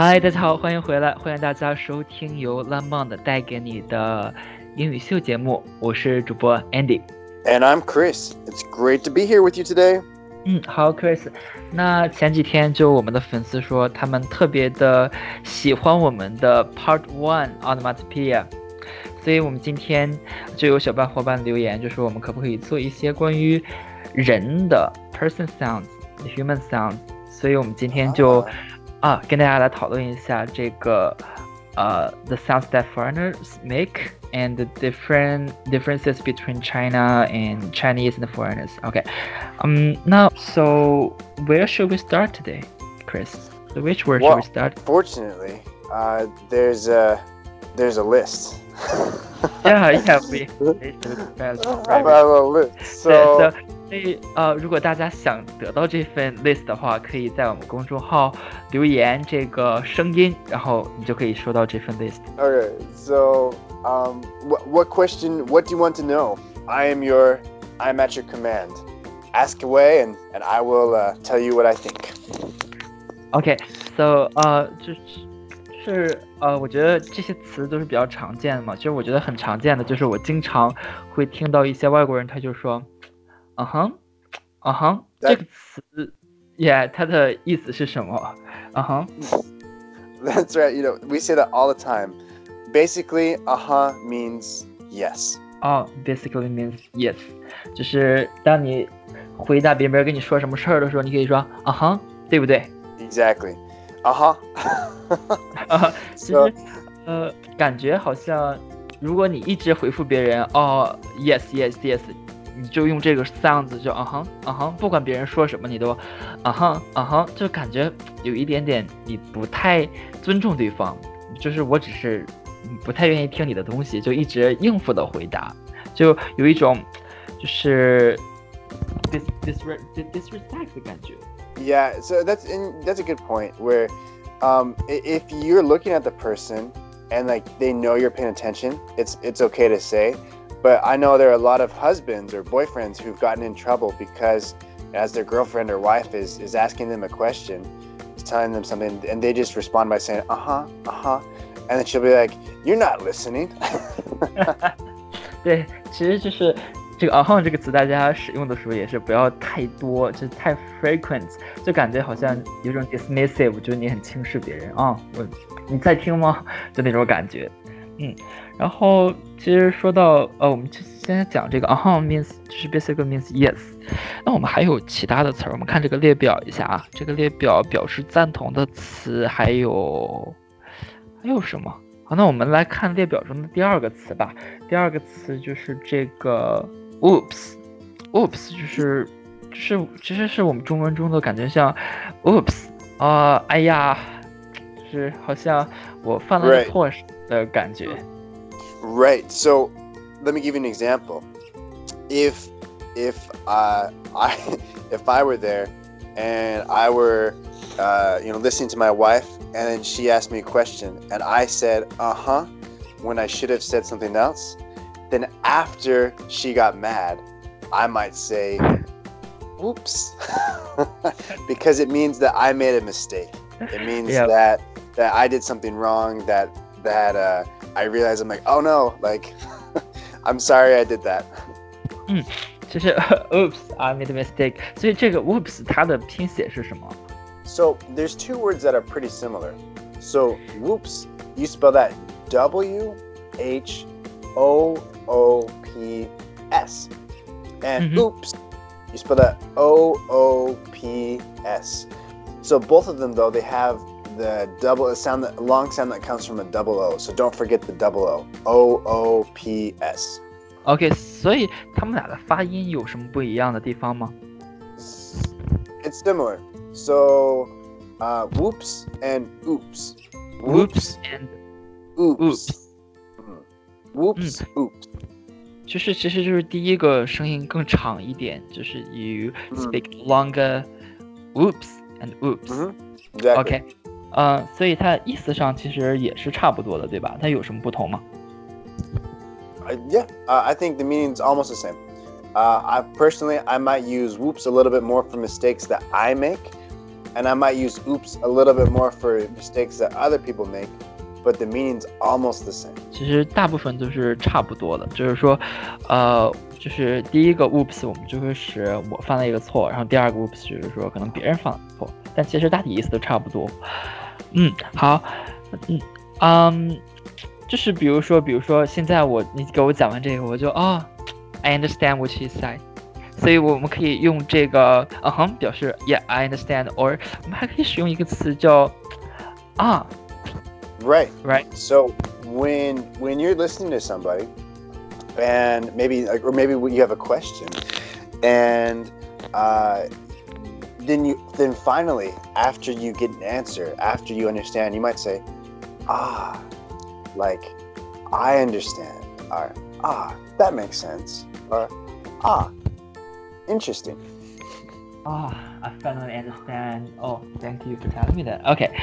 嗨，大家好，欢迎回来，欢迎大家收听由 Lamond 带给你的英语秀节目，我是主播 Andy。And I'm Chris. It's great to be here with you today. 好 Chris， 那前几天就我们的粉丝说他们特别的喜欢我们的 Part 1 Onomatopoeia， 所以我们今天就有小伙伴留言，就说我们可不可以做一些关于人的 person sounds、human sounds， 所以我们今天就跟大家来讨论一下这个the sounds that foreigners make and the differences between China and Chinese and foreigners. Okay. Now, so where should we start today, Chris? So which word should we start? Fortunately, there's a list. Yeah, we have a list. So 所以如果大家想得到这份 list 的话，可以在我们公众号留言这个声音，然后你就可以收到这份 list. Okay, so what question? What do you want to know? I'm at your command. Ask away, and I will tell you what I think. Okay, so 就是我觉得这些词都是比较常见的嘛。其实我觉得很常见的就是我经常会听到一些外国人他就说这个词 yeah 它的意思是什么 That's right, we say that all the time. Basically, means yes. Basically means yes. 就是当你回答别人跟你说什么事儿的时候，你可以说对不对？ Exactly. 其实感觉好像如果你一直回复别人yes yes yes， 你就用这个 sounds 就不管别人说什么你都就感觉有一点点你不太尊重对方，就是我只是不太愿意听你的东西，就一直应付的回答，就有一种就是 disrespect 的感觉。 Yeah, so that's a good point where if you're looking at the person and like they know you're paying attention, it's okay to say. But I know there are a lot of husbands or boyfriends who've gotten in trouble because as their girlfriend or wife is asking them a question, is telling them something, and they just respond by saying and then she'll be like, "You're not listening." 对，其实就是这个这个词大家使用的时候也是不要太多，就是太 frequent， 就感觉好像有种 dismissive， 就是你很轻视别人你在听吗？就那种感觉。然后其实说到我们现在讲这个means 就是 basically means yes。那我们还有其他的词儿，我们看这个列表一下啊。这个列表表示赞同的词还有什么？好，那我们来看列表中的第二个词吧。第二个词就是这个 oops 就是其实是我们中文中的感觉像 oops 哎呀，就是好像我犯了错事的感觉。 Right. So let me give you an example. If I were there and I were listening to my wife and then she asked me a question and I said when I should have said something else, then after she got mad, I might say oops because it means that I made a mistake. It means that I did something wrong, that I realized I'm like, oh no, like I'm sorry I did that. 就是 oops, I made a mistake. 所以这个 oops 它的拼写是什么？ So there's two words that are pretty similar. So whoops, you spell that WHOOPS. And oops, you spell that OOPS. So both of them though, they have the long sound that comes from a double O. So don't forget the double O. OOPS. OK, 所以他们俩的发音有什么不一样的地方吗？ It's similar. So whoops and oops. Whoops and oops. Whoops, oops. 其实就是第一个声音更长一点，就是 you speak longer whoops and oops. Exactly. OK. 所以它意思上其实也是差不多的，对吧？它有什么不同吗？ I think the meaning's almost the same. I might use whoops a little bit more for mistakes that I make, and I might use oops a little bit more for mistakes that other people make, but the meaning's almost the same. 其实大部分都是差不多的，就是说，就是第一个 oops 我们就会使我犯了一个错，然后第二个 oops 就是说可能别人犯了错，但其实大体意思都差不多。好，就是比如说现在你给我讲完这个，我就I understand what she said， 所以我们可以用这个表示 yeah I understand， or 我们还可以使用一个词叫 Right. right. So when you're listening to somebody, and maybe you have a question, and then finally after you get an answer, after you understand, you might say, like I understand, or that makes sense, or interesting. I finally understand. Oh, thank you for telling me that. Okay，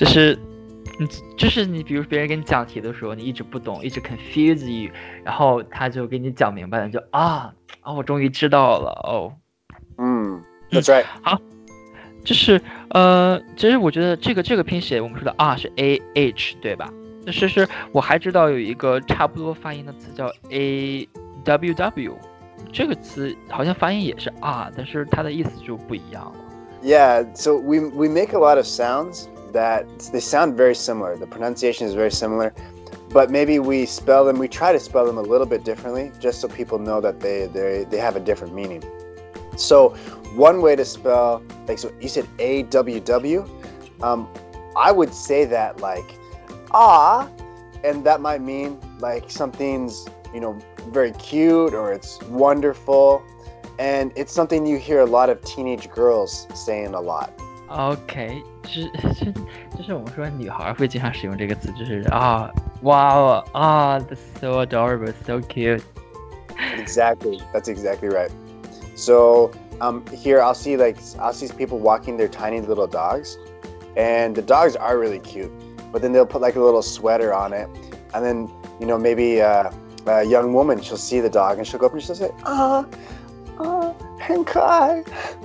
就是你比如别人给你讲题的时候，你一直不懂，一直 confuse you， 然后他就给你讲明白了，你就我终于知道了 That's right. 好，就是其实我觉得这个拼写我们说的是 AH 对吧？是我还知道有一个差不多发音的词叫 AWW， 这个词好像发音也是但是它的意思就不一样了。 Yeah, so we make a lot of sounds that they sound very similar. The pronunciation is very similar, but maybe we try to spell them a little bit differently, just so people know that they have a different meaning. So one way to spell, like, so you said AWW, I would say that like and that might mean like something's very cute, or it's wonderful, and it's something you hear a lot of teenage girls saying a lot. OK， 就是我们说女孩会经常使用这个词，就是wow, that's so adorable, so cute. Exactly, that's exactly right. So here I'll see people walking their tiny little dogs, and the dogs are really cute, but then they'll put like a little sweater on it, and then maybe a young woman, she'll see the dog and she'll go up and she'll say很可爱。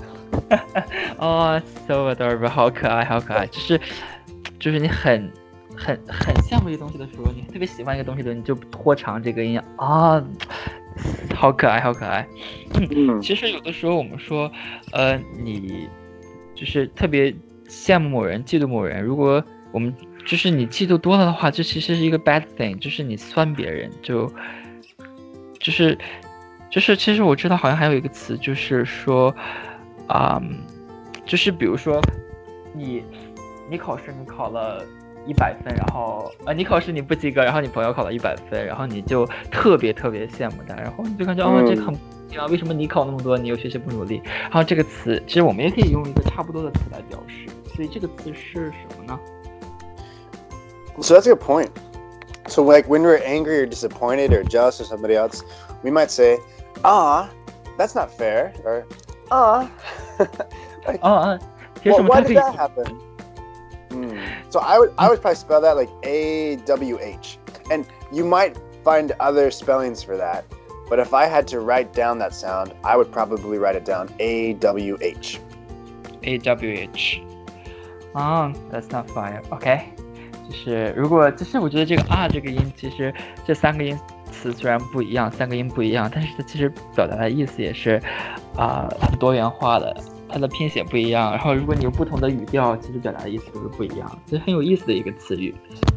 so adorable， 好可爱，就是你很羡慕一个东西的时候，你特别喜欢一个东西的，你就拖长这个音好可爱，好可爱。其实有的时候我们说，你就是特别羡慕某人，嫉妒某人，如果我们就是你嫉妒多了的话，这其实是一个 bad thing， 就是你酸别人，就是其实我知道好像还有一个词，就是说就是比如说你考试你考了100分，然后你考试你不及格，然后你朋友考了100分，然后你就特别羡慕他，然后你就感觉这个很不一样，为什么你考那么多，你又学习不努力？然后这个词其实我们也可以用一个差不多的词来表示，所以这个词是什么呢？ So that's a good point. So like when we're angry or disappointed or jealous of somebody else, we might say, that's not fair, or like, why did that happen? So I would probably spell that like AWH, and you might find other spellings for that, but if I had to write down that sound, I would probably write it down AWH. AWH. That's not fire. Okay. 就是我觉得这个这个音，其实这三个音词虽然不一样，三个音不一样，但是它其实表达的意思也是很多元化的，它的拼写不一样，然后如果你有不同的语调，其实表达的意思都是不一样，这很有意思的一个词语。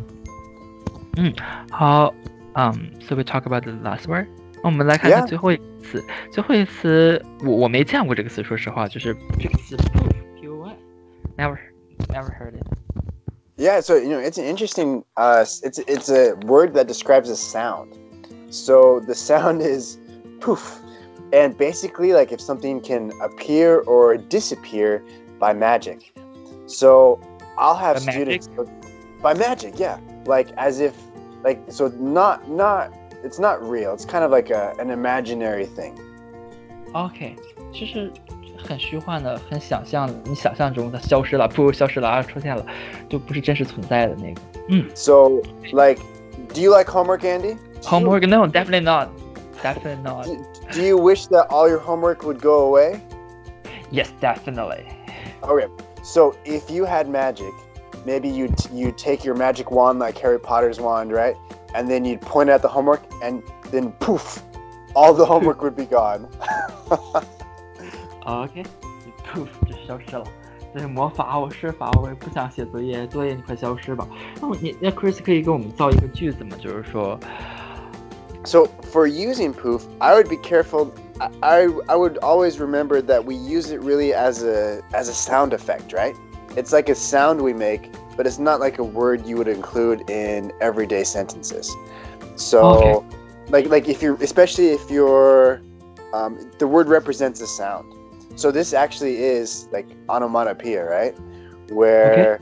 好，so we talk about the last word。我们来看看最后一个词，最后一个词我没见过这个词，说实话，就是这个词 POF，never heard it。 Yeah, so it's an interesting. It's a word that describes a sound. So the sound is poof, and basically, like if something can appear or disappear by magic. So I'll have students by magic, yeah, like as if, like so not it's not real. It's kind of like an imaginary thing. Okay, 就是很虚幻的，很想象的，你想象中它消失了，消失了，出现了，就不是真实存在的那个。 So, like, do you like homework, Andy? Homework? No, definitely not. Definitely not. Do you wish that all your homework would go away? Yes, definitely. Okay. So if you had magic, maybe you take your magic wand like Harry Potter's wand, right? And then you'd point at the homework, and then poof, all the homework would be gone. OK， poof 就消失了。这是魔法，我施法，我也不想写作业，作业你快消失吧。那 Chris 可以给我们造一个句子吗？就是说 So for using poof, I would be careful. I would always remember that we use it really as a sound effect, right? It's like a sound we make, but it's not like a word you would include in everyday sentences. So, like if you're, especially if you're, the word represents a sound. So this actually is like onomatopoeia, right? Where,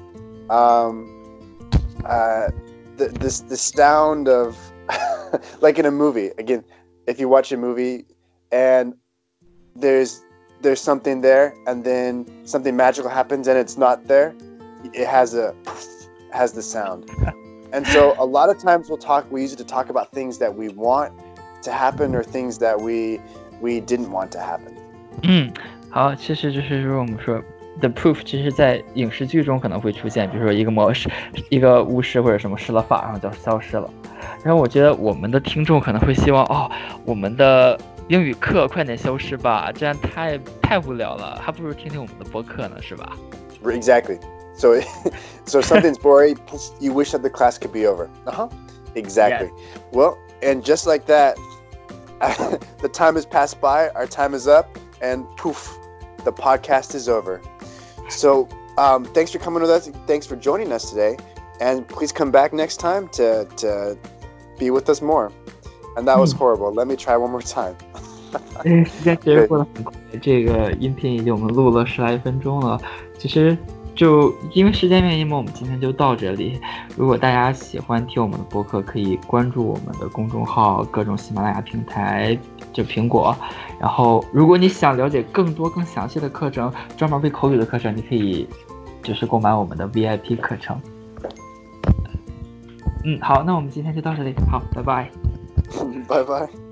the sound of, like in a movie. Again, if you watch a movie and there's something there, and then something magical happens and it's not there, it has the sound. And so a lot of times we use it to talk about things that we want to happen or things that we didn't want to happen. 好，其实就是说我们说 the proof 其实在影视剧中可能会出现，比如说一个巫师或者什么施了法，然后就消失了。然后我觉得我们的听众可能会希望我们的英语课快点消失吧，这样太无聊了，还不如听听我们的播客呢，是吧？ Exactly. So something's boring, you wish that the class could be over. Exactly. Yes. Well, and just like that, the time has passed by, our time is up, and poof, the podcast is over. So thanks for coming with us. Thanks for joining us today. And please come back next time to be with us more. And that was horrible. Let me try one more time. 时间其实过得很快，这个音频已经我们录了10来分钟了。其实就因为时间原因嘛，我们今天就到这里。如果大家喜欢听我们的播客，可以关注我们的公众号，各种喜马拉雅平台，就苹果。然后，如果你想了解更多更详细的课程，专门为口语的课程，你可以就是购买我们的 VIP 课程。好，那我们今天就到这里，好，拜拜。 拜拜。